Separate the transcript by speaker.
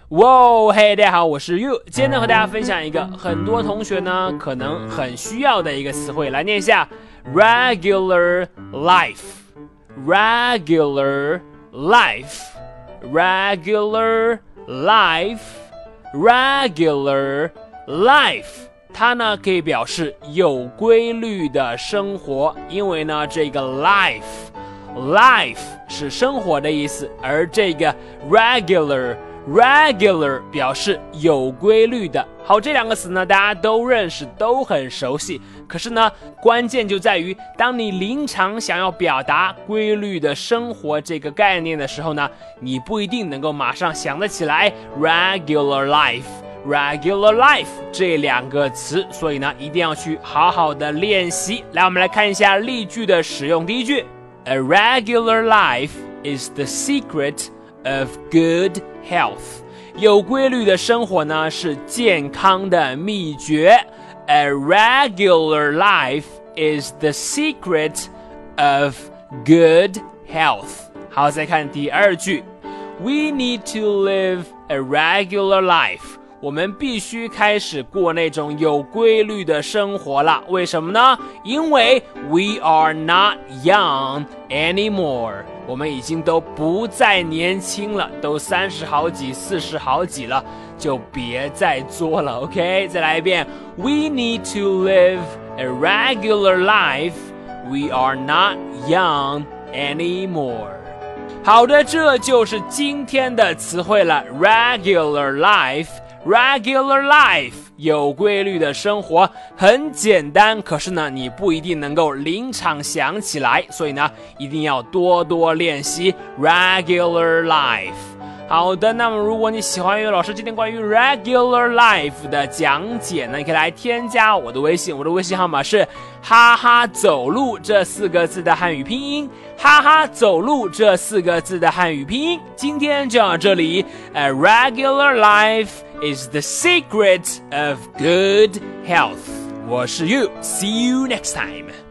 Speaker 1: 哇，嘿，大家好，我是 You， 今天呢和大家分享一个很多同学呢可能很需要的一个词汇，来念一下 regular life。regular life，regular life，regular life， 它呢可以表示有规律的生活，因为呢这个 life 是生活的意思，而这个 regular 表示有规律的。好，这两个词呢大家都认识，都很熟悉，可是呢关键就在于当你临场想要表达规律的生活这个概念的时候呢，你不一定能够马上想得起来 regular life 这两个词，所以呢一定要去好好的练习。来，我们来看一下例句的使用。第一句， A regular life is the secret of good health， 有规律的生活呢是健康的秘诀。 A regular life is the secret of good health。 好，再看第二句， We need to live a regular life， 我们必须开始过那种有规律的生活了。为什么呢？因为 we are not young anymore， 我们已经都不再年轻了，都30好几40好几了，就别再作了。 OK， 再来一遍， We need to live a regular life， We are not young anymore。 好的，这就是今天的词汇了。 regular life， 有规律的生活，很简单，可是呢你不一定能够临场想起来，所以呢一定要多多练习 regular life。 好的，那么如果你喜欢于老师今天关于 regular life 的讲解呢，你可以来添加我的微信，我的微信号码是哈哈走路这4个字的汉语拼音，哈哈走路这4个字的汉语拼音。今天就到这里。 A regular life is the secret of good health。 我是 You， see you next time。